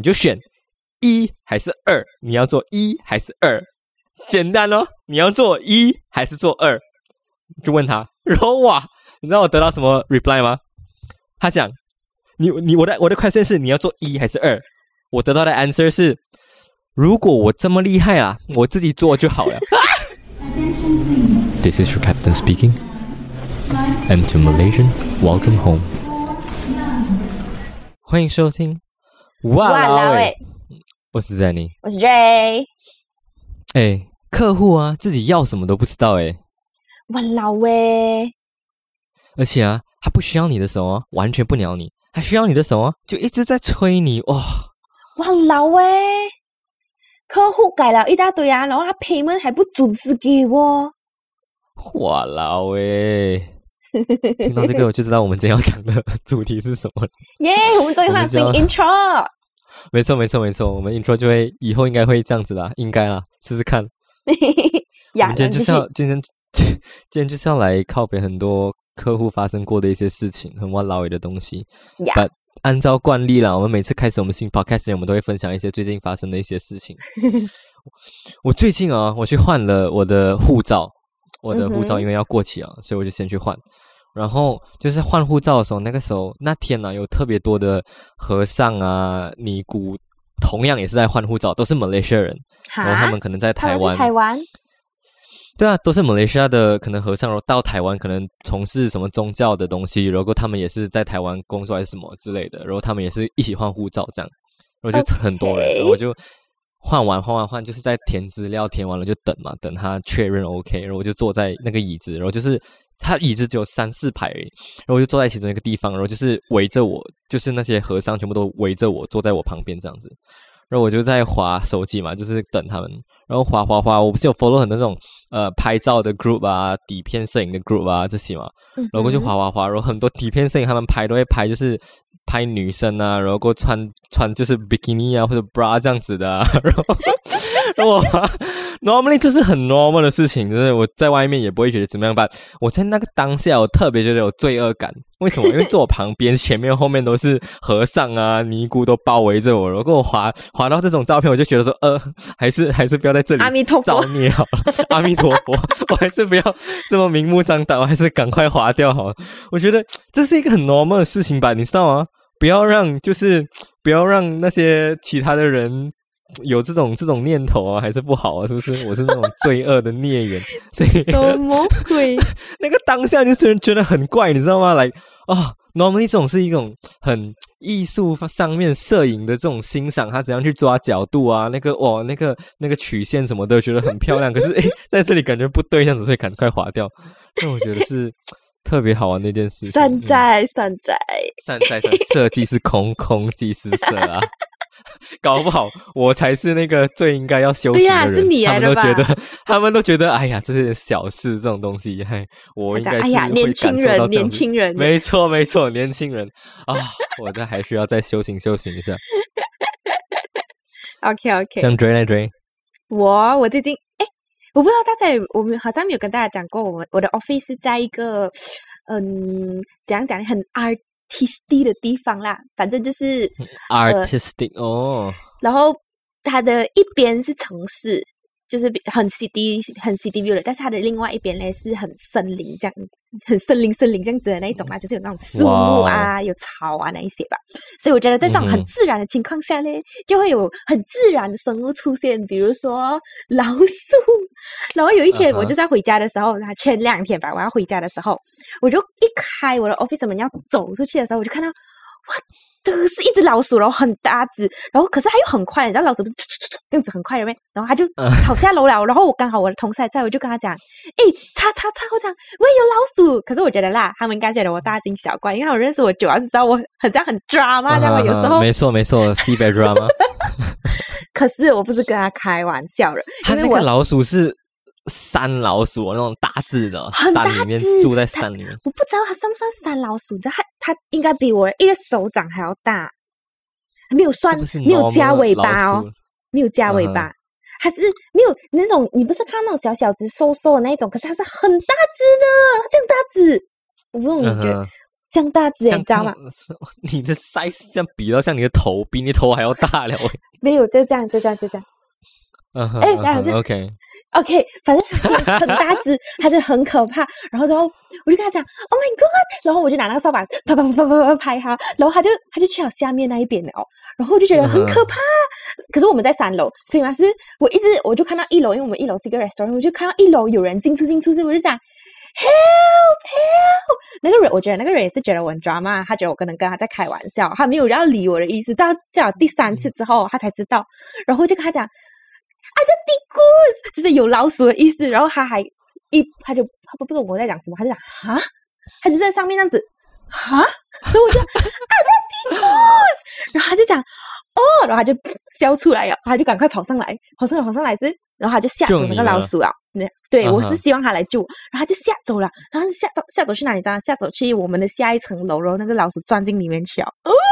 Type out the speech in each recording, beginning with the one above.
就选1还是2，你要做1还是2，简单哦，你要做1还是做2，就问他，然后哇，你知道我得到什么 reply 吗？他讲，我的 question 是你要做1还是2，我得到的 answer 是，如果我这么厉害啊，我自己做就好了。This is your captain speaking, and to Malaysians, welcome home. 欢迎收听哇啦喂，我是 Zenny， 我是 J。 客户啊，自己要什么都不知道哇啦喂， 而且啊，他不需要你的手啊，完全不鸟你，他需要你的手啊，就一直在催你哇啦喂，客户改了一大堆啊，然后他 payment 还不准时给我。 哇啦喂，听到这个我就知道我们今天要讲的主题是什么了。 耶，我们终于换新 intro。 没错，我们 intro 就会以后应该会这样子啦，应该啦，试试看。我们今天就是要来靠北很多客户发生过的一些事情，很哇啦喂的东西。But 按照惯例啦，我们每次开始我们新 podcast 前，我们都会分享一些最近发生的一些事情。我最近啊，我去换了我的护照，因为要过期啊，所以我就先去换。然后就是换护照的时候，那天呢，有特别多的和尚啊、尼姑，同样也是在换护照，都是马来西亚人。然后他们可能在台湾。对啊，都是马来西亚的可能和尚，然后到台湾可能从事什么宗教的东西，然后他们也是在台湾工作还是什么之类的，然后他们也是一起换护照这样，然后就很多人，然后我就换完，就是在填资料，填完了就等嘛，等他确认 OK， 然后我就坐在那个椅子，然后就是他椅子只有3-4排而已，然后我就坐在其中一个地方，然后就是围着我，就是那些和尚全部都围着我坐在我旁边这样子。然后我就在滑手机嘛，就是等他们，然后滑，我不是有 follow 很多那种拍照的 group 啊、底片摄影的 group 啊这些嘛，然后就滑，然后很多底片摄影他们拍都会拍，就是拍女生啊，然后穿就是 bikini 啊或者 bra 这样子的啊，然后normally 这是很 normal 的事情，就是我在外面也不会觉得怎么样吧。我在那个当下，我特别觉得有罪恶感。为什么？因为坐我旁边、前面、后面都是和尚啊、尼姑都包围着我，然后我滑到这种照片，我就觉得说，还是不要在这里造孽好了。阿弥陀佛，我还是不要这么明目张胆，我还是赶快滑掉好了。我觉得这是一个很 normal 的事情吧，你知道吗？不要让那些其他的人有这种念头啊，还是不好啊，是不是？我是那种罪恶的孽缘，所以什么鬼？ 那个当下就觉得很怪，你知道吗？来normally 这种是一种很艺术上面摄影的这种欣赏，他怎样去抓角度啊，那个曲线什么的，觉得很漂亮。可是在这里感觉不对，这样子，所以赶快划掉。那我觉得是特别好玩的一件事情。 善哉， 色即是空，空即是色啊。搞不好我才是那个最应该要修行的人。 对啊，是你来的吧？ 他们都觉得哎呀，这些小事这种东西，我应该是会感受到年轻人， 没错，年轻人啊，我这还需要再修行一下。 OK， 这样追。 我最近我不知道大家我们好像没有跟大家讲过，我的 office 是在一个怎样讲很 artistic 的地方啦，反正就是 artistic 然后它的一边是城市，就是很 city view 的，但是它的另外一边呢是很森林这样，很森林这样子的那一种啦，就是有那种树木啊，有草啊那一些吧。所以我觉得在这种很自然的情况下呢，就会有很自然的生物出现，比如说老鼠。然后有一天我就是要回家的时候，前2天吧，我要回家的时候，我就一开我的 office 门要走出去的时候，我就看到哇，这个是一只老鼠，然后很大只，然后可是它又很快，你知道老鼠不是这样子很快的咩？然后它就跑下楼了，然后我刚好我的同事还在，我就跟他讲，叉，我讲我也有老鼠，可是我觉得啦，他们应该觉得我大惊小怪，因为他们认识我久了，知道我很drama，这样有时候没错，西北 drama。 可是我不是跟他开玩笑的， 他那个老鼠是山老鼠那种大只的，山里面住在山里面。 我不知道它算不算山老鼠，它应该比我一个手掌还要大，没有加尾巴哦，没有加尾巴，它是没有那种，你不是看那种小小只瘦瘦的那一种，可是它是很大只的，它这样大只，我不懂你觉得像大只，你知道吗？ 你的 size 这样比到像你的头，比你头还要大了。 没有，就这样。OK， 反正他很大只，他就很可怕。然后我就跟他讲 ，Oh my God！ 然后我就拿那个扫把啪拍他，然后他就去了下面那一边了。然后我就觉得很可怕。可是我们在3楼，所以嘛是我就看到1楼，因为我们1楼是一个 restaurant， 我就看到1楼有人进出，我就讲 help。那个人，我觉得那个人也是觉得我很 drama， 他觉得我可能跟他在开玩笑，他没有要理我的意思。到叫第3次之后，他才知道。然后我就跟他讲。就是有老鼠的意思，然后他不懂我在讲什么，他就讲哈，他就在上面这样子哈，然后我就然后他就讲哦，然后他就笑出来了，他就赶快跑上来是，然后他就吓走那个老鼠了。对，我是希望他来救我，然后他就吓走了，然后吓走去哪里？知道？吓走去我们的下一层楼，然后那个老鼠钻进里面去了。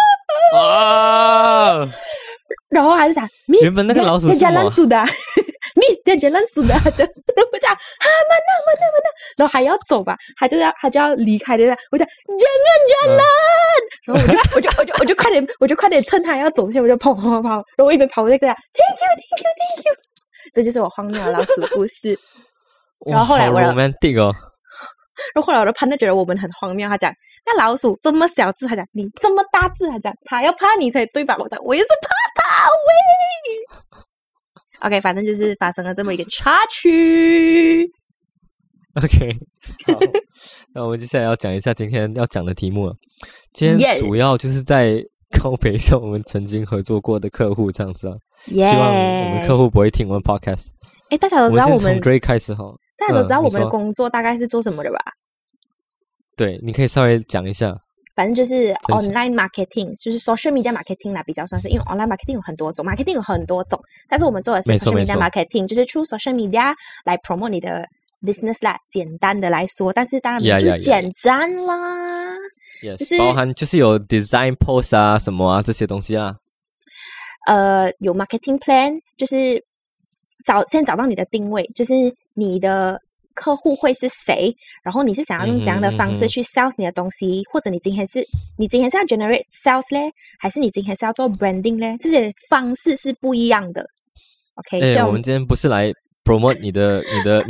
然后还是讲 ，Miss， 原本那个老鼠是什么 ？Miss， dia jalan sudah， 然后我讲mana，然后还要走吧，他就要离开的，我讲 jangan jalan，然后我就快点趁他要走之前，我就跑，然后我一边跑我就跟他 thank you， 这就是我荒谬的老鼠故事。然后后来好 romantic 哦。 然后后来我的partner觉得我们很荒谬，他讲那老鼠这么小只，他讲你这么大只，他讲他要怕你才对吧？我讲我也是怕他喂。OK， 反正就是发生了这么一个插曲。 OK， 好，那我们接下来要讲一下今天要讲的题目了。今天主要就是在告别一下我们曾经合作过的客户，这样子啊。希望我们客户不会听我们 podcast。 大家都知道我们从 Dray 开始哈。 大家都知道我们的工作大概是做什么的吧？ 对，你可以稍微讲一下。 反正就是 online marketing， 就是 social media marketing 啦，比较算是，因为 online marketing 有很多种 ，marketing 有很多种，但是我们做的是 social media marketing， 就是 through social media 来 promote 你的 business 啦。简单的来说，但是当然不简单啦， 就是包含就是有 design post 啊什么啊这些东西啦。 有 marketing plan， 就是先找到你的定位，就是你的客户会是谁，然后你是想要用怎样的方式去 sales 你的东西，或者你今天是要 generate sales 嘞，还是你今天是要做 branding 嘞？这些方式是不一样的。OK， 我们今天不是来 promote 你的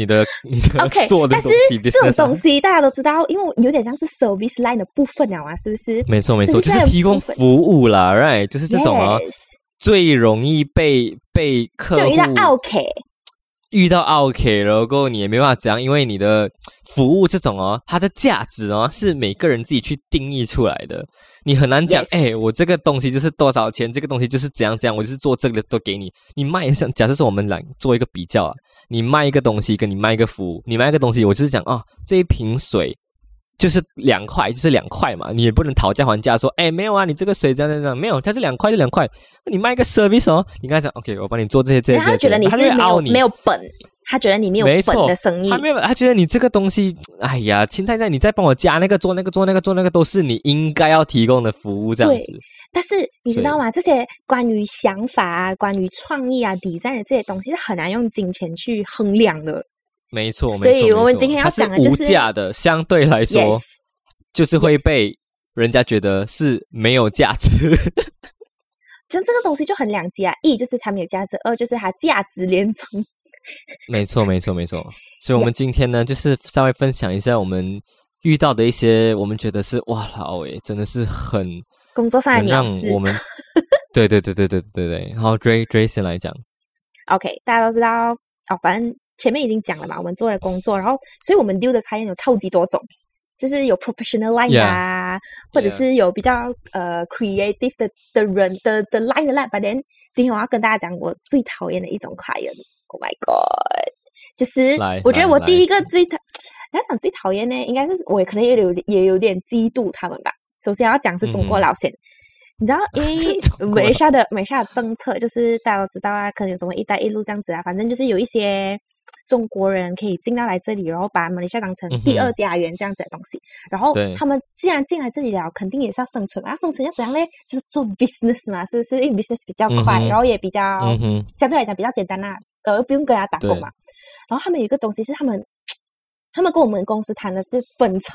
OK， 做的东西， 但是这种东西大家都知道，因为有点像是 service line 的部分了啊，是不是？ 没错，就是提供服务啦 ，right？ 就是这种啊。最容易被客户就遇到 OK， 然后你也没办法讲，因为你的服务这种它的价值是每个人自己去定义出来的，你很难讲。我这个东西就是多少钱，这个东西就是怎样，我就是做这个都给你。你卖像假设说我们来做一个比较啊，你卖一个东西跟你卖一个服务，你卖一个东西，我就是讲这一瓶水。就是2块，就是2块嘛，你也不能讨价还价说，没有啊，你这个水这样，没有，它是2块就2块。你卖一个 service 你跟他讲 ，OK， 我帮你做这些， 他觉得你是没有本，他觉得你没有本的生意， 他觉得你这个东西，哎呀，现在你再帮我加那个做那个都是你应该要提供的服务这样子。 但是你知道吗？这些关于想法啊、关于创意啊、design 的这些东西是很难用金钱去衡量的。 没错， 所以我们今天要讲的就是它是无价的，相对来说， yes， 就是会被人家觉得是没有价值。 这个东西就很两极啊，一就是它没有价值，二就是它价值连城。 没错。所以我们今天呢，就是稍微分享一下我们遇到的一些，我们觉得是哇老真的是很工作上的鸟事。 让我们对。好 Dray 先来讲。 OK， 大家都知道反正。前面已经讲了嘛，我们做的工作，然后所以我们丢的client有超级多种，就是有 professional line 啊，或者是有比较creative 的人的 line 的 line。But then 今天我要跟大家讲我最讨厌的一种 client。Oh my god， 就是我觉得我第一个要讲最讨厌呢，应该是我可能也有点嫉妒他们吧。首先要讲是中国老先。你知道，因为马来西亚的政策就是大家都知道啊，可能有什么一带一路这样子啊，反正就是有一些中国人可以进到来这里，然后把马来西亚当成第二家园这样子的东西。然后他们既然进来这里了，肯定也是要生存嘛。要生存要怎样呢？就是做 business 嘛，是不是？因为 business 比较快，然后也比较相对来讲比较简单啦，不用跟人家打工嘛。然后他们有一个东西是他们跟我们公司谈的是分成。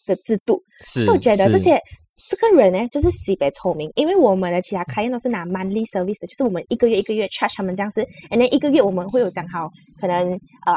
的制度， 是， 所以我觉得这个人呢，就是西北聪明，因为我们的其他client都是拿 monthly service 的，就是我们一个月 charge 他们这样子，and then 一个月我们会有讲好，可能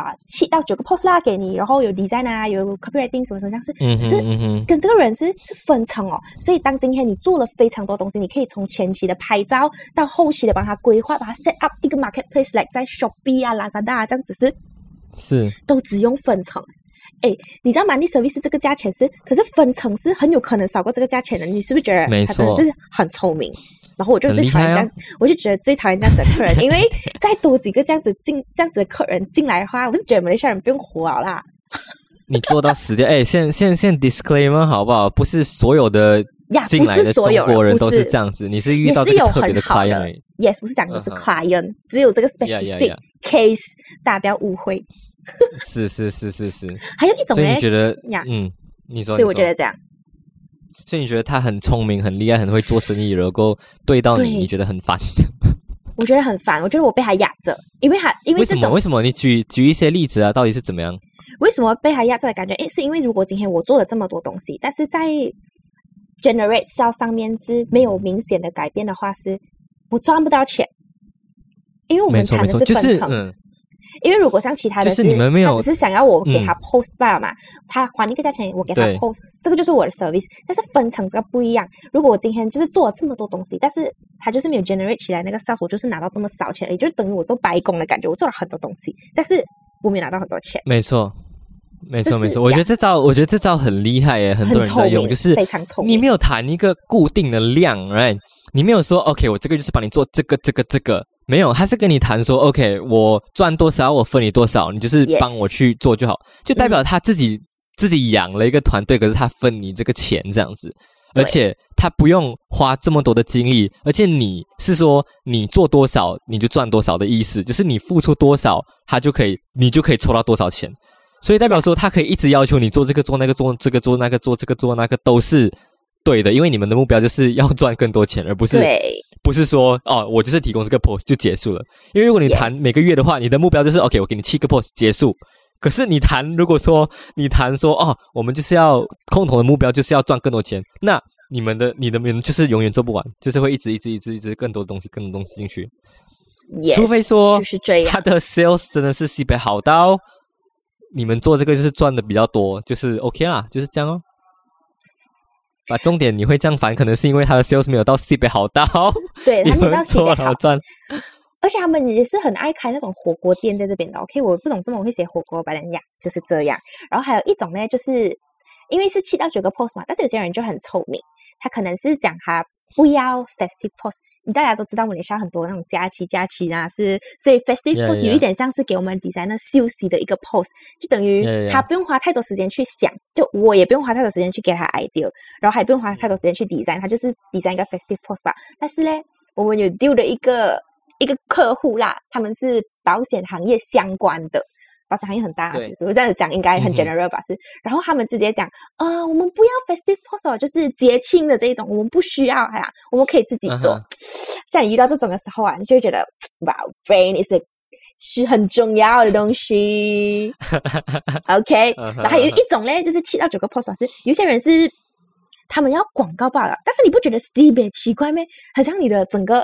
7到9个 post 啦给你，然后有 design 啊，有 copywriting 什么这样子，可是跟这个人是分成哦，所以当今天你做了非常多东西，你可以从前期的拍照到后期的帮他规划，把他 set up 一个 marketplace like 在 Shopee 啊、Lazada 啊这样子是都只用分成。哎，你知道 monthly service 这个价钱是，可是分成是很有可能少过这个价钱的，你是不是觉得他真的是很聪明？然后我就最讨厌这样，我就觉得最讨厌这样子的客人，因为再多几个这样子的客人进来的话，我就觉得马来西亚人不用活了啦。 你做到死掉，哎，现 disclaimer 好不好？不是所有的进来的中国人都是这样子，你是遇到这个特别的 client。 Yes， 不是讲的是 client， 只有这个 specific case， 大家不要误会。 是， 还有一种呢， 所以你觉得，你说， 所以我觉得这样， 所以你觉得他很聪明、很厉害、很会做生意，然后对到你，你觉得很烦？ 我觉得很烦，我觉得我被他压着，因为为什么？你举一些例子啊，到底是怎么样？ 为什么被他压着的感觉？是因为如果今天我做了这么多东西，但是在 generate sales 上面是没有明显的改变的话，是我赚不到钱，因为我们谈的是分成。因为如果像其他的就是你们没有， 他只是想要我给他 post 罢嘛，他还一个价钱我给他 post， 这个就是我的 service。但是分成这个不一样。如果我今天就是做了这么多东西，但是他就是没有 generate 起来那个 sales， 我就是拿到这么少钱，也就是等于我做白工的感觉。我做了很多东西，但是我没有拿到很多钱。 没错。我觉得这招很厉害耶，很多人在用，就是非常聪明。 你没有谈一个固定的量 ，right？ 你没有说 OK， 我这个就是帮你做这个。没有，他是跟你谈说 ，OK， 我赚多少，我分你多少，你就是帮我去做就好，就代表他自己养了一个团队，可是他分你这个钱这样子，而且他不用花这么多的精力，而且你是说你做多少你就赚多少的意思，就是你付出多少，你就可以抽到多少钱，所以代表说他可以一直要求你做这个做那个做这个做那个做这个做那个都是对的，因为你们的目标就是要赚更多钱，而不是说我就是提供这个 post 就结束了。因为如果你谈每个月的话，你的目标就是 OK， 我给你7个 post 结束。可是如果说你谈说我们就是要共同的目标就是要赚更多钱，那你们就是永远做不完，就是会一直更多东西进去。 Yes， 除非说就是这样， 他的 sales 真的是西北好到你们做这个就是赚的比较多，就是 OK 啦，就是这样哦。把重点你会这样烦，可能是因为他的 sales 没有到西北好到， 对，他没有到西北好赚。 而且他们也是很爱开那种火锅店在这边的。OK， 我不懂这么我会写火锅吧，人家就是这样。然后还有一种呢，就是因为是7到9个 post 嘛，但是有些人就很聪明，他可能是讲他不要 festive post。大家都知道马来西亚很多那种假期啊，所以 festive post 有一点像是给我们 designer 休息的一个 post， 就等于他不用花太多时间去想，就我也不用花太多时间去给他 idea， 然后还不用花太多时间去 design， 他就是 design 一个 festive post 吧。但是呢，我们有 deal 的一个客户啦，他们是保险行业相关的。保险行业很大，我这样子讲应该很 general 吧，是。然后他们直接讲我们不要 festive post， 就是节庆的这一种，我们不需要，我们可以自己做。像你遇到这种的时候啊，你就会觉得哇 ，brain 是很重要的东西。OK， 然后还有一种呢，就是7到9个 post 是有些人是他们要广告罢了，但是你不觉得 CB 奇怪吗？很像你的整个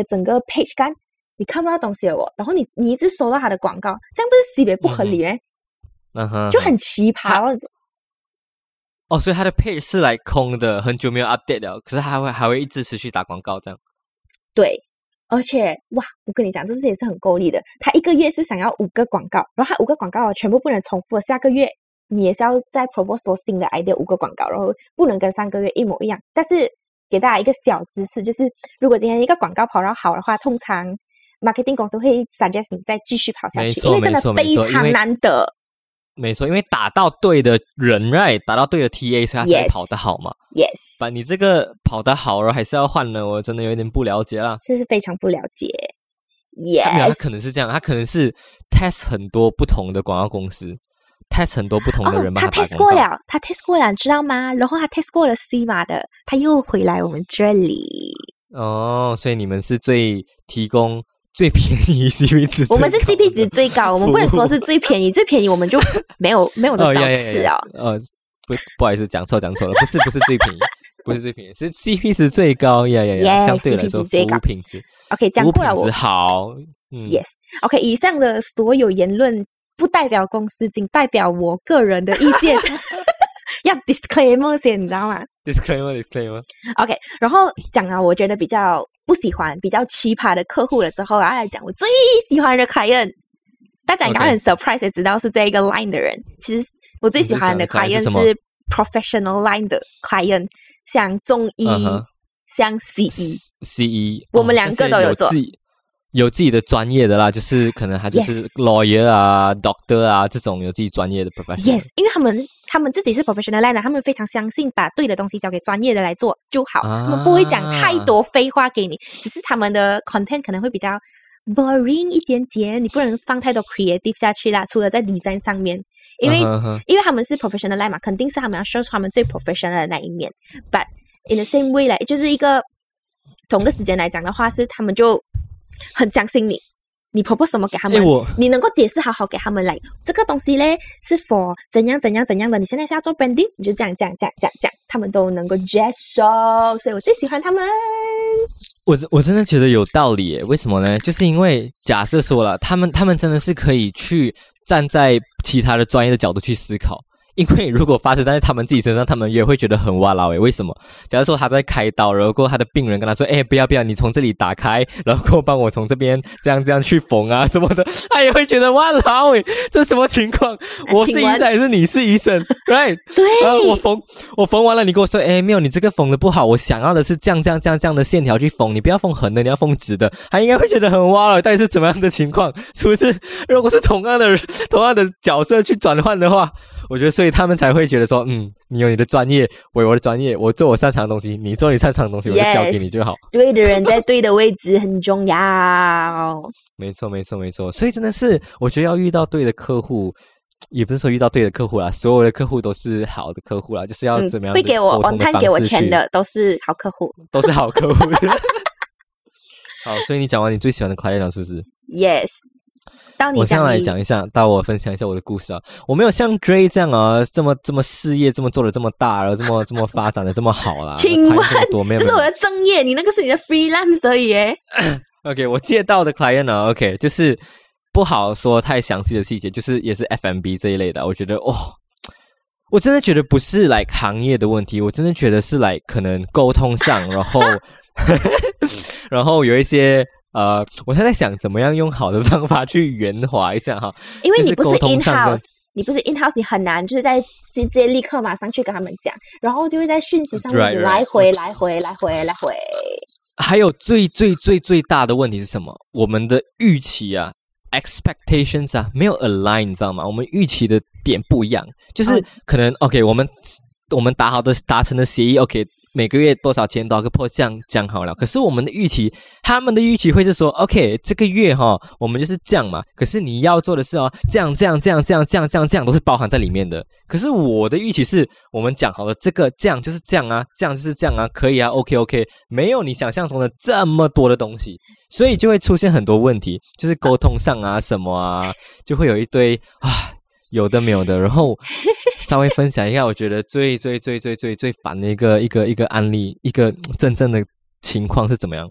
page 干。你看不到东西了然后你一直收到他的广告，这样不是 CB 不合理吗？就很奇葩。 所以他的 page 是来空的，很久没有 update 了，可是他还会一直持续打广告这样。 对，而且哇，我跟你讲，这也是很够力的。他一个月是想要5个广告，然后他5个广告全部不能重复的，下个月你也是要再 propose 多新的 idea 5个广告，然后不能跟上个月一模一样。但是给大家一个小知识，就是如果今天一个广告跑到好的话，通常marketing 公司会 suggest 你再继续跑下去，因为真的非常难得。 没错，因为打到对的人 right， 打到对的 TA， 所以他才跑得好嘛。 Yes， 把你这个跑得好，然后还是要换了，我真的有点不了解啦。 是非常不了解。Yes， 他可能是这样，他可能是 test 很多不同的广告公司，test 很多不同的人帮他打广告。 他 test 过了，你知道吗？然后他 test 过了 C 码的，他又回来我们这里。 所以你们是提供最便宜 CP 值， 我们是 CP 值最高，我们不能说是最便宜，最便宜我们就没有的找吃啊。 不好意思，讲错了，不是最便宜，不是最便宜，是 CP 值最高呀，相对来说服务品质 OK， 讲过了， 服务品质好 ，Yes， OK， 以上的所有言论不代表公司，仅代表我个人的意见。要 disclaimer 先，你知道吗 ？disclaimer。 OK， 然后讲了我觉得比较不喜欢、比较奇葩的客户了之后，然后来讲我最喜欢的 client。大家应该很 surprise 也知道是这一个 line 的人。其实我最喜欢的 client 是 professional line 的 client， 像中医、像 CE， 我们两个都有做。 有自己的专业的啦，就是可能他就是 lawyer 啊、doctor 啊这种有自己专业的 professional。 Yes， 因为他们自己是 professional line 的，他们非常相信把对的东西交给专业的来做就好，他们不会讲太多废话给你，只是他们的 content 可能会比较 boring 一点点，你不能放太多 creative 下去啦，除了在 design 上面，因为他们是 professional line 嘛，肯定是他们要 show 出他们最 professional 的那一面。But in the same way 就是一个同个时间来讲的话，是他们就很相信你 propose 什么给他们，你能够解释好好给他们来，这个东西嘞是 for 怎样的，你现在是要做 branding， 你就这样，他们都能够接受，所以我最喜欢他们。 我真的觉得有道理耶，为什么呢？就是因为假设说了，他们真的是可以去站在其他的专业的角度去思考。因为如果发生在他们自己身上，他们也会觉得很哇啦诶。为什么？假如说他在开刀，然后他的病人跟他说：“不要，你从这里打开，然后帮我从这边这样去缝啊什么的。”他也会觉得哇啦诶，这什么情况？我是医生还是你是医生 ？Right？ 对。 我缝完了，你跟我说：“没有，你这个缝的不好，我想要的是这样的线条去缝，你不要缝横的，你要缝直的。”他应该会觉得很哇啦，到底是怎么样的情况？是不是？如果是同样的角色去转换的话。我觉得，所以他们才会觉得说，你有你的专业，我有我的专业，我做我擅长的东西，你做你擅长的东西，我就交给你就好。 对的人在对的位置很重要。 没错。所以真的是，我觉得要遇到对的客户，也不是说遇到对的客户啦，所有的客户都是好的客户啦，就是要怎么样会给我 on time 给我钱的都是好客户， 都是好客户。好，所以你讲完你最喜欢的 client 是不是 ？Yes。 我先来讲一下，到我分享一下我的故事啊。我没有像 Dre 这样啊，这么事业这么做的这么大，然后这么发展的这么好啦。 请问，这是我的正业，你那个是你的 freelance 而已耶。 OK， 我接到的 client 呢 ，OK， 就是不好说太详细的细节，就是也是 F&B 这一类的。我觉得我真的觉得不是like 行业的问题，我真的觉得是like 可能沟通上，然后有一些。我现在想怎么样用好的方法去圆滑一下哈， 因为你不是 in house， 你很难就是在直接立刻马上去跟他们讲，然后就会在讯息上面来回。 还有最大的问题是什么？我们的预期啊 ，expectations 啊，没有 align， 你知道吗？我们预期的点不一样，就是可能 OK， 我们达成的协议 OK。每个月多少钱多少个 post 讲好了，可是我们的预期，他们的预期会是说 OK 这个月我们就是这样嘛，可是你要做的是这样都是包含在里面的。可是我的预期是我们讲好了这个这样就是这样啊，这样就是这样啊，可以啊 OK， 没有你想象中的这么多的东西，所以就会出现很多问题，就是沟通上啊什么啊，就会有一堆有的没有的，然后稍微分享一下，我觉得最烦的一个案例，一个真正的情况是怎么样？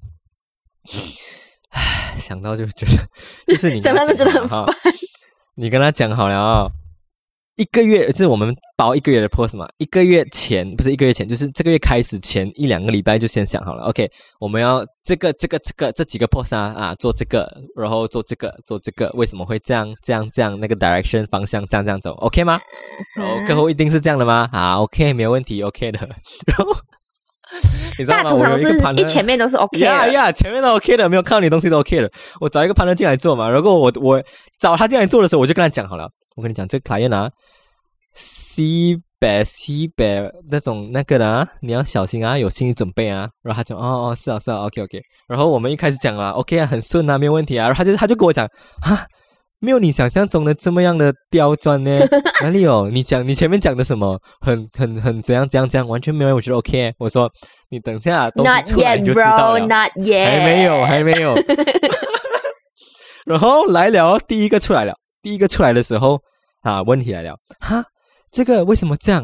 想到就觉得，就是你想到就觉得很烦。 你跟他讲好了一个月，就是我们包一个月的 post 嘛，不是一个月前，就是这个月开始前1-2个礼拜就先想好了 ，OK， 我们要这几个 post 做这个，然后做这个，为什么会这样，那个 direction 方向这样走 ，OK 吗？然后客户一定是这样的吗？OK， 没有问题 ，OK 的。然后你知道吗？ 通常是一前面都是 OK 的， 前面都 OK 的，没有看到你东西都 OK 的。我找一个 partner 进来做嘛，然后我找他进来做的时候，我就跟他讲好了。我跟你讲，这个 client 西北那种那个的你要小心啊，有心理准备啊。然后他讲是啊 OK。然后我们一开始讲了 OK 啊，很顺啊，没有问题啊。然后他就跟我讲没有你想象中的这么样的刁钻呢，哪里有？你前面讲的什么很怎样，完全没有，我觉得 OK。我说你等下东西出来就知道了。 Not yet， 还没有。然后来了，第一个出来的时候问题来了这个为什么这样？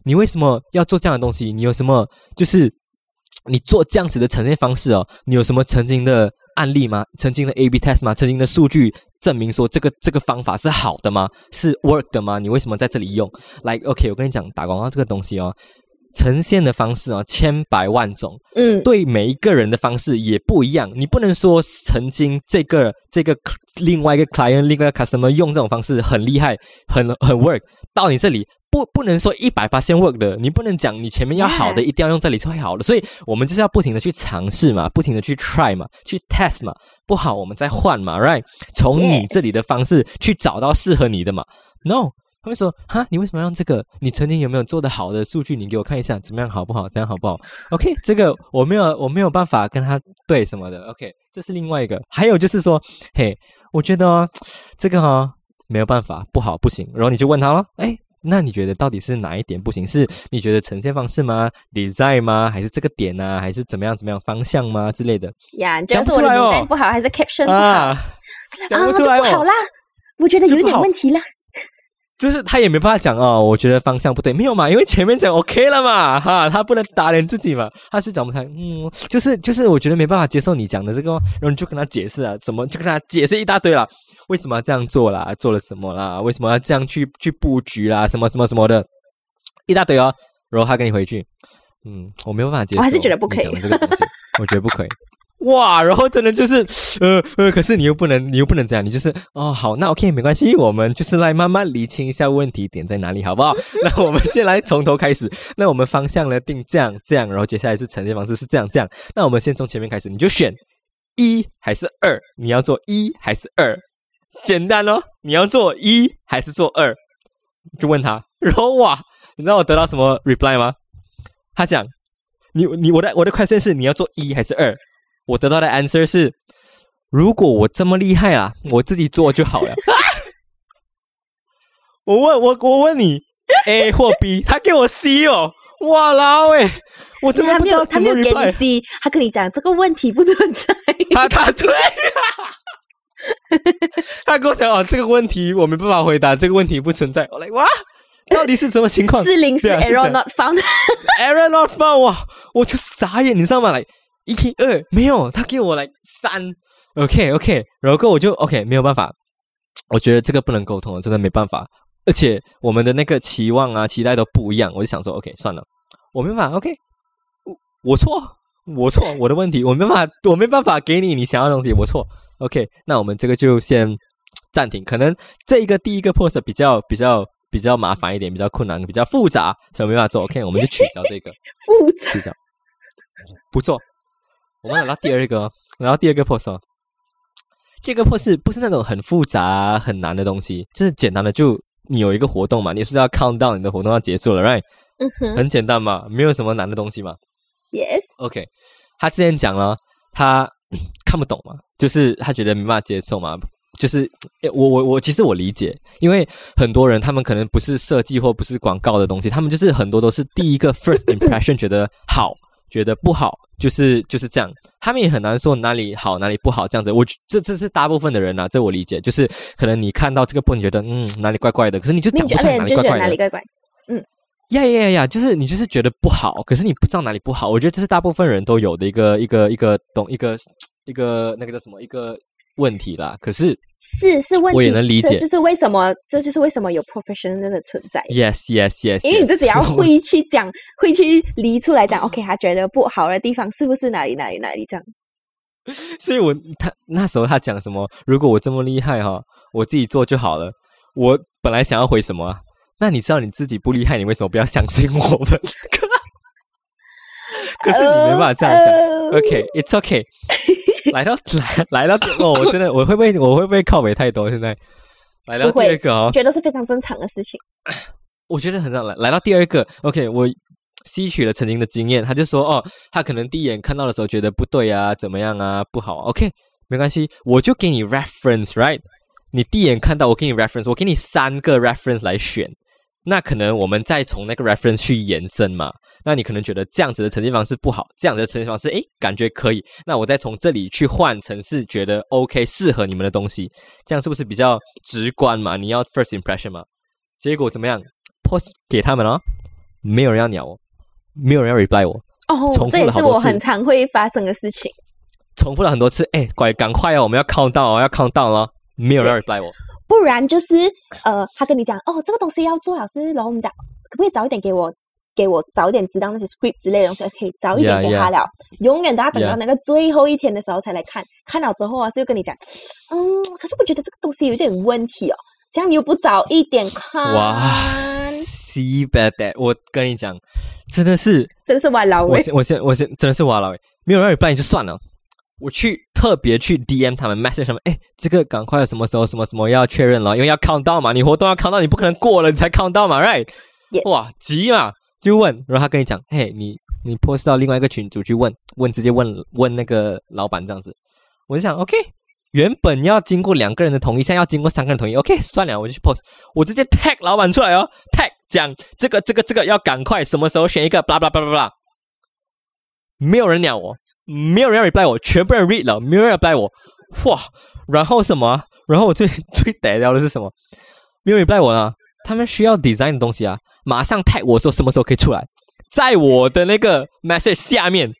你为什么要做这样的东西？你有什么就是你做这样子的呈现方式哦？你有什么曾经的案例吗？曾经的 A/B test 吗？曾经的数据证明说这个方法是好的吗？是 work 的吗？你为什么在这里用 ？Like OK， 我跟你讲，打广告这个东西哦，呈现的方式哦，千百万种，对每一个人的方式也不一样。你不能说曾经这个另外一个 client 另外一个 customer 用这种方式很厉害，很 work， 到你这里。不能说100% work 的，你不能讲你前面要好的，一定要用这里才会好的，所以我们就是要不停的去尝试嘛，不停的去 try 嘛，去 test 嘛，不好我们再换嘛 ，right？ 从你这里的方式去找到适合你的嘛。No， 他们说哈，你为什么要用这个？你曾经有没有做的好的数据？你给我看一下，怎么样好不好？这样好不好 ？OK， 这个我没有办法跟他对什么的。OK， 这是另外一个。还有就是说，嘿，我觉得这个没有办法，不好不行。然后你就问他咯，哎。那你觉得到底是哪一点不行？是你觉得呈现方式吗 ？design 吗？还是这个点啊？还是怎么样方向吗之类的？ 呀，就是我的 design 不好，还是 caption 不好？ 讲不出来就不好啦，我觉得有点问题啦。 就是他也没办法讲哦，我觉得方向不对，没有嘛，因为前面讲 OK 了嘛，哈，他不能打脸自己嘛，他是讲不开，就是我觉得没办法接受你讲的这个，然后你就跟他解释啊，什么就跟他解释一大堆啦，为什么要这样做啦，做了什么啦，为什么要这样去布局啦，什么的，一大堆哦，然后他跟你回去，我没有办法接受， 我还是觉得不可以， 这个东西我觉得不可以。哇，然后真的就是可是你又不能这样，你就是好，那 OK 没关系，我们就是来慢慢理清一下问题点在哪里，好不好？那我们先来从头开始。那我们方向呢定这样，然后接下来是呈现方式是这样。那我们先从前面开始，你就选1还是2，你要做1还是2，简单哦，你要做1还是做2，就问他，然后哇，你知道我得到什么 reply 吗？他讲我的 question 是你要做1还是2？我得到的 answer 是，如果我这么厉害啊，我自己做就好了。我问你 A 或 B， 他给我 C 哦，哇啦喂，我真的不知道他没有给你 C， 他跟你讲这个问题不存在。 他对他跟我讲这个问题我没办法回答，这个问题不存在。我来哇，到底是什么情况 ？404 error not found error not found， 哇，我就傻眼，你知道吗？来。1、2没有，他给我来3 ，OK， 然后我就 OK 没有办法，我觉得这个不能沟通，真的没办法，而且我们的那个期望啊、期待都不一样，我就想说 OK 算了，我没办法 OK， 我错，我的问题，我没办法给你想要的东西，我错 OK， 那我们这个就先暂停，可能这个第一个 post 比较麻烦一点，比较困难，比较复杂，所以没办法做 OK， 我们就取消这个复杂， 取消，不错。我们来到第二个 post 哦，这个 post 不是那种很复杂很难的东西，就是简单的，就你有一个活动嘛，你是要 count down 你的活动要结束了 right， 很简单嘛，没有什么难的东西嘛。 Yes OK， 他之前讲了他看不懂嘛，就是他觉得没办法接受嘛，就是我其实我理解，因为很多人他们可能不是设计或不是广告的东西，他们就是很多都是第一个 first impression 觉得好觉得不好，就是这样，他们也很难说哪里好哪里不好这样子。这是大部分的人啊，这我理解，就是可能你看到这个point，你觉得哪里怪怪的，可是你就讲不出来哪里怪怪的， 哪里怪怪， 就是你就是觉得不好，可是你不知道哪里不好。我觉得这是大部分人都有的一个那个叫什么一个问题啦。可是问题，我也能理解， 这就是为什么有 professional 的存在。 Yes， 因为你自己要会去讲，会去理出来讲 ，OK， 他觉得不好的地方是不是哪里这样？ 所以他那时候他讲什么？如果我这么厉害我自己做就好了。我本来想要回什么啊？那你知道你自己不厉害，你为什么不要相信我们？可是你没办法这样讲。OK，it's OK。来到我真的我会不会靠北太多？现在来到第二个觉得是非常正常的事情。 我觉得很来到第二个 OK， 我吸取了曾经的经验，他就说他可能第一眼看到的时候觉得不对啊，怎么样啊，不好 OK， 没关系，我就给你 reference right， 你第一眼看到我给你 reference， 我给你3个 reference 来选。那可能我们再从那个 reference 去延伸嘛，那你可能觉得这样子的呈现方式不好，这样子的呈现方式感觉可以，那我再从这里去换成是觉得 OK 适合你们的东西，这样是不是比较直观嘛？你要 first impression 嘛？结果怎么样 post 给他们没有人要鸟我，没有人要 reply 我。 这也是我很常会发生的事情。 重复了很多次，赶快哦，我们要count down哦，要count down了，没有人要 reply 我。 不然就是他跟你讲这个东西要做，老师，然后我们讲可不可以早一点给我早一点知道那些 script 之类的东西，可以早一点给他了。永远都要等到那个最后一天的时候才来看，看了之后啊，就跟你讲，可是我觉得这个东西有点问题哦，这样你又不早一点看。 哇 ，see bad that， 我跟你讲，真的是哇老伟， 我先真的是哇老伟，没有人 reply 就算了。我特别去 DM 他们 message 他们，这个赶快什么时候什么什么要确认了，因为要 count down 嘛，你活动要 count down， 你不可能过了你才 count down 嘛 ，right？ 哇，急嘛，就问，然后他跟你讲，你 post 到另外一个群组去问，直接问那个老板这样子，我就想 OK， 原本要经过2个人的同意，现在要经过3个人同意 ，OK， 算了，我就去 post， 我直接 tag 老板出来哦 ，tag 讲这个要赶快，什么时候选一个 blah blah blah blah blah， 没有人鸟我。没有人 reply 我，全部人 read 了，没有人 reply 我，哇！然后什么？然后我最逮掉的是什么？没有人 reply 我了，他们需要 design 的东西啊，马上 tag 我说什么时候可以出来，在我的那个 message 下面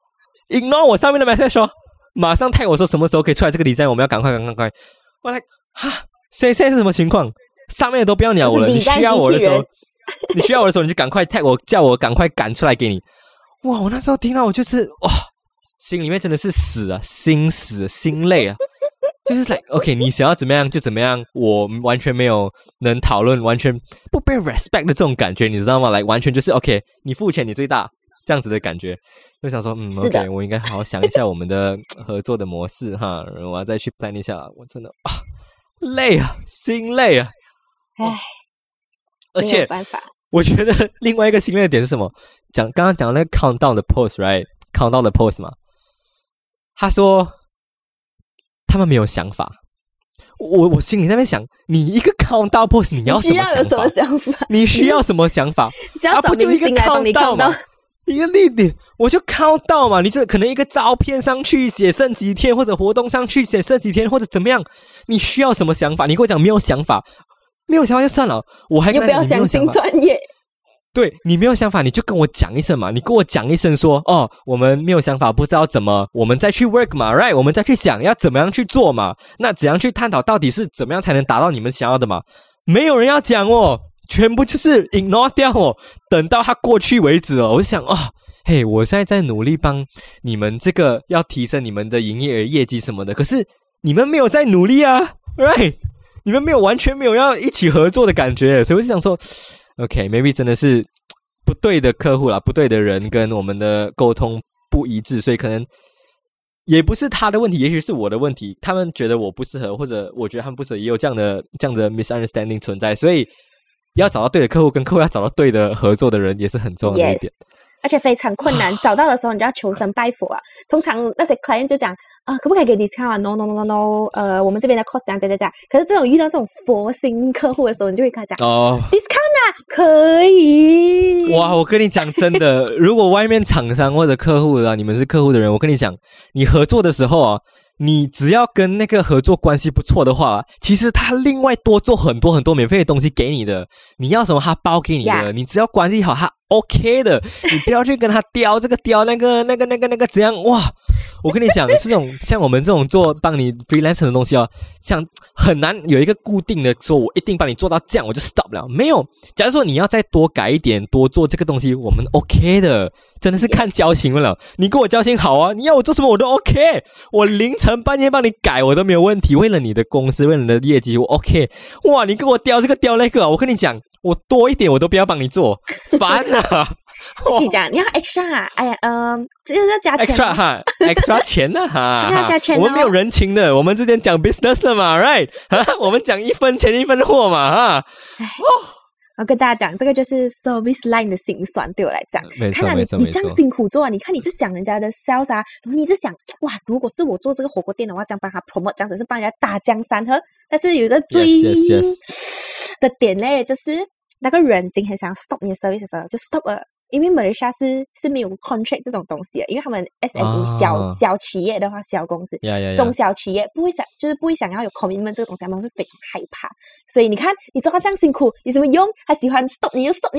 ignore 我上面的 message 说，马上 tag 我说什么时候可以出来这个 design， 我们要赶快。我来现在是什么情况？上面的都不要鸟我了，你需要我的时候，你就赶快 tag 我，叫我赶快赶出来给你。哇！我那时候听到我就是哇。心里面真的是死啊，心死心累啊，就是 like OK， 你想要怎么样就怎么样，我完全没有能讨论，完全不被 respect 的这种感觉，你知道吗？ like 完全就是 OK， 你付钱你最大这样子的感觉，就想说OK， 我应该好好想一下我们的合作的模式哈，我要再去 plan 一下，我真的累啊，心累啊，而且没有办法， 我觉得另外一个心累的点是什么？刚刚讲那个 countdown 的 post right，countdown 的 post 嘛。他说他们没有想法，我心里在那边想，你一个 countdown post 你要什么想法？你需要什么想法？ 只要找明星来帮你 countdown， 一个例点我就 countdown 嘛，你就可能一个照片上去写剩几天，或者活动上去写剩几天，或者怎么样？你需要什么想法？你跟我讲没有想法，没有想法就算了，我还跟你不要相信专业。 对，你没有想法你就跟我讲一声嘛，你跟我讲一声说我们没有想法，不知道怎么，我们再去 work 嘛 right， 我们再去想要怎么样去做嘛，那怎样去探讨到底是怎么样才能达到你们想要的嘛，没有人要讲全部就是 ignore 掉等到它过去为止我就想我现在努力帮你们这个要提升你们的营业额业绩什么的，可是你们没有在努力啊 right， 你们完全没有要一起合作的感觉，所以我就想说OK，maybe 真的是不对的客户啦，不对的人跟我们的沟通不一致，所以可能也不是他的问题，也许是我的问题。他们觉得我不适合，或者我觉得他们不适合，也有这样的 misunderstanding 存在。所以要找到对的客户，跟客户要找到对的合作的人，也是很重要的一点。 而且非常困难，找到的时候你就要求神拜佛啊。通常那些 client 就讲可不可以给 discount 啊 ？No， 我们这边的 cost 这样。可是遇到这种佛心客户的时候，你就会跟他讲discount 啊，可以。 哇，我跟你讲真的，如果外面厂商或者客户你们是客户的人，我跟你讲，你合作的时候你只要跟那个合作关系不错的话，其实他另外多做很多很多免费的东西给你的，你要什么他包给你的，你只要关系好他 OK 的，你不要去跟他雕这个雕那个怎样哇！我跟你讲，这种像我们这种做帮你 freelancer 的东西像很难有一个固定的说我一定帮你做到这样我就 stop 了，没有。假如说你要再多改一点，多做这个东西，我们 OK 的，真的是看交情了。你跟我交情好你要我做什么我都 OK， 我凌晨半夜帮你改我都没有问题，为了你的公司，为了你的业绩我 OK。哇，你跟我雕这个雕那个我跟你讲，我多一点我都不要帮你做，烦啊！ 你讲你要 extra 这个要加钱 extra 钱这个要加钱我们没有人情的，我们之前讲 business 的嘛 right 我们讲一分钱一分货嘛我跟大家讲，这个就是 service line 的辛酸，对我来讲。 没错， 你这样辛苦做你看你是想人家的 sales 然后你是想哇，如果是我做这个火锅店的话，这样帮他 promote， 这样子是帮人家打江山喝。但是有一个最的点嘞，就是那个人今天想要 stop 你的 service 的时候就 stop 了。因为马来西亚是没有 contract 这种东西的，因为他们 SME 小企业的话，小公司中小企业不会想要有 commitment 这个东西，他们会非常害怕。所以你看，你做到这样辛苦有什么用？他喜欢 stop 你就 stop 你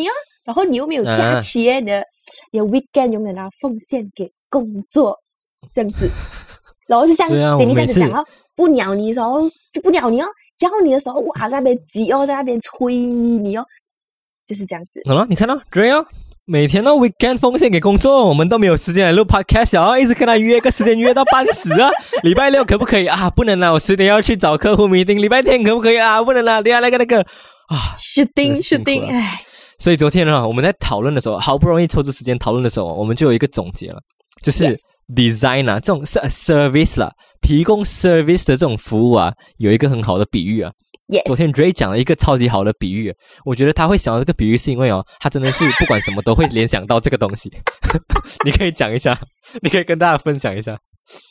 然后你又没有假期耶，你的 weekend 永远要奉献给工作，这样子。然后就像Jenny这样子讲哦，不鸟你的时候就不鸟你哦，要你的时候哇在那边挤哦，在那边催你哦，就是这样子。 好了，你看到对哦，每天都 weekend 奉献给工作，我们都没有时间来录 podcast 啊，一直跟他约个时间约到半死啊。礼拜六可不可以啊？不能啦，我10点要去找客户 meeting。礼拜天可不可以啊？不能啦，等下那个啊， 是定，哎。 所以昨天呢，我们在讨论的时候，好不容易抽出时间讨论的时候，我们就有一个总结了，就是 design 啊，这种 service 啦，提供 service 的这种服务啊，有一个很好的比喻啊。昨天 Dray 讲了一个超级好的比喻，我觉得他会想到这个比喻是因为他真的是不管什么都会联想到这个东西。你可以讲一下，你可以跟大家分享一下。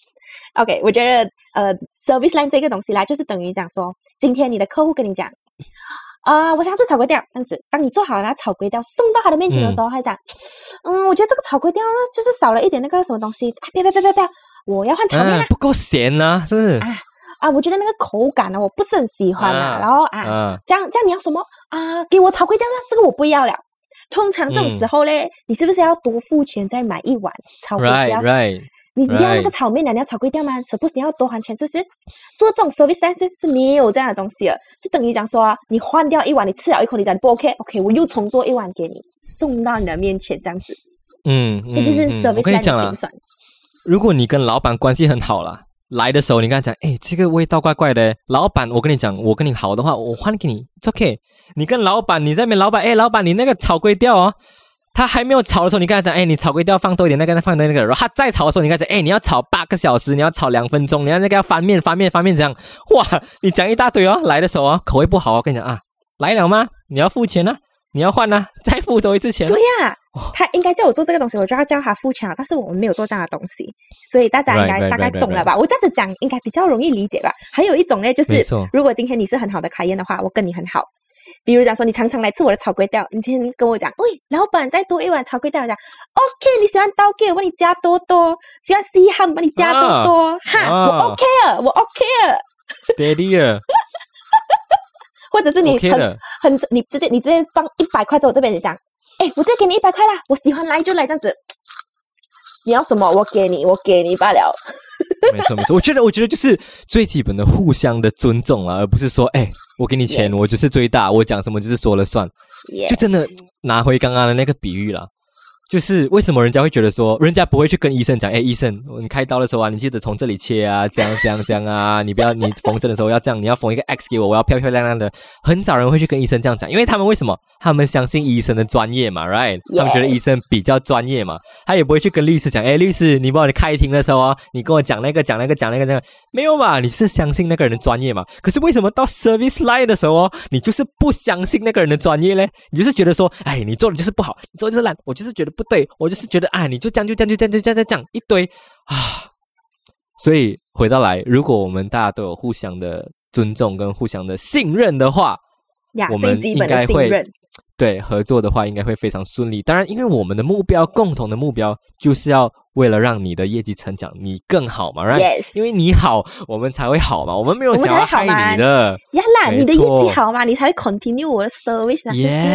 OK， 我觉得service line 这个东西啦，就是等于讲说，今天你的客户跟你讲我想要吃炒粿条，这样子，当你做好了那炒粿条送到他的面前的时候，他讲，我觉得这个炒粿条呢，就是少了一点那个什么东西，不要，我要换炒面啦， 不够咸啊，是不是？ 我觉得那个口感呢，我不是很喜欢啦，然后这样你要什么给我炒粿条啦，这个我不要了。通常这种时候嘞，你是不是要多付钱再买一碗炒粿条？ Right. 你不要那个炒面了，你要炒粿条吗？ suppose 你要多还钱，是不是？做这种 service 但是没有这样的东西了，就等于讲说你换掉一碗，你吃了一口，你讲不 OK， 我又重做一碗给你，送到你的面前这样子。这就是 service 的心酸。 如果你跟老板关系很好啦，来的时候你跟他讲，这个味道怪怪的，老板，我跟你讲，我跟你好的话，我换给你 ，it's OK。你跟老板，你在那边，老板，你那个炒粿条他还没有炒的时候，你跟他讲，你炒粿条放多一点，那个放多那个，然后他再炒的时候，你跟他讲，你要炒8个小时，你要炒2分钟，你要那个要翻面这样，哇，你讲一大堆来的时候口味不好，我跟你讲来了吗？你要付钱你要换再付多一次钱。 对呀，他应该叫我做这个东西，我就要叫他付钱但是我们没有做这样的东西，所以大家应该大概懂了吧？我这样子讲应该比较容易理解吧？还有一种呢，就是如果今天你是很好的client的话，我跟你很好。比如讲说，你常常来吃我的炒粿条，你今天跟我讲，喂，老板再多一碗炒粿条，讲 OK， 你喜欢刀给我帮你加多，喜欢西汉帮你加多，我 OK 了，我 OK 了 ，steady 了， 或者是你你直接放100块在我这边，你讲，我直接给你100块啦，我喜欢来就来这样子，你要什么我给你罢了。 没错，我觉得就是最基本的互相的尊重而不是说，我给你钱，我就是最大，我讲什么就是说了算，就真的拿回刚刚的那个比喻啦。就是为什么人家会觉得说，人家不会去跟医生讲，医生，你开刀的时候你记得从这里切这样啊，你不要，你缝针的时候要这样，你要缝一个 X 给我要漂漂亮亮的。很少人会去跟医生这样讲，因为他们为什么？他们相信医生的专业嘛 ，right？ 他们觉得医生比较专业嘛，他也不会去跟律师讲，律师，你帮我开庭的时候你跟我讲那个，没有嘛？你是相信那个人的专业嘛？可是为什么到 service line 的时候你就是不相信那个人的专业呢？你就是觉得说，你做的就是不好，你做的就是烂，我就是觉得不对，我就是觉得你就这样一堆所以回到来，如果我们大家都有互相的尊重跟互相的信任的话，我们应该会对合作的话应该会非常顺利。当然因为我们的共同的目标就是要为了让你的业绩成长你更好嘛 right？ Yes， 因为你好我们才会好嘛，我们没有想要害你的呀啦，你的业绩好嘛，你才会 continue 我的 service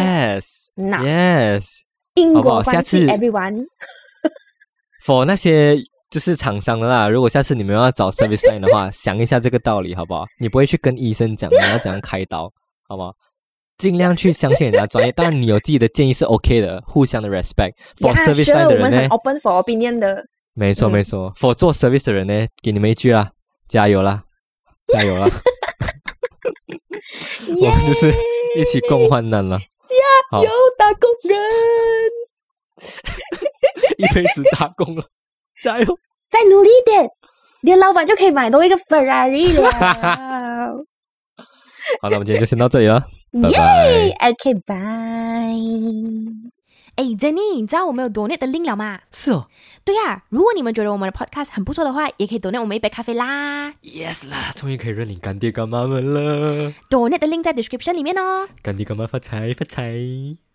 Yes， 因果关系 everyone for 那些就是厂商的啦，如果下次你们要找 service line 的话想一下这个道理好不好？你不会去跟医生讲你要怎样开刀好不好？尽量去相信人家专业，当然你有自己的建议是 OK 的，互相的 respect。 For service line 的人呢，我们很 open for opinion 的。 没错 For 做 service 的人呢，给你们一句啦，加油啦我们就是一起共患难了， 加油打工人一辈子打工了，加油， 再努力一点，你的老板就可以买多一个 Ferrari 了好，那我们今天就先到这里了，拜拜。OK， 拜。Jenny， 你知道我们有 donate 的 link 了吗？ 是哦。 对呀，如果你们觉得我们的 podcast 很不错的话，也可以 donate 我们一杯咖啡啦。 Yes 啦，终于可以认领干爹干妈们了。 donate 的 link 在 description 里面哦。 干爹干妈发财发财。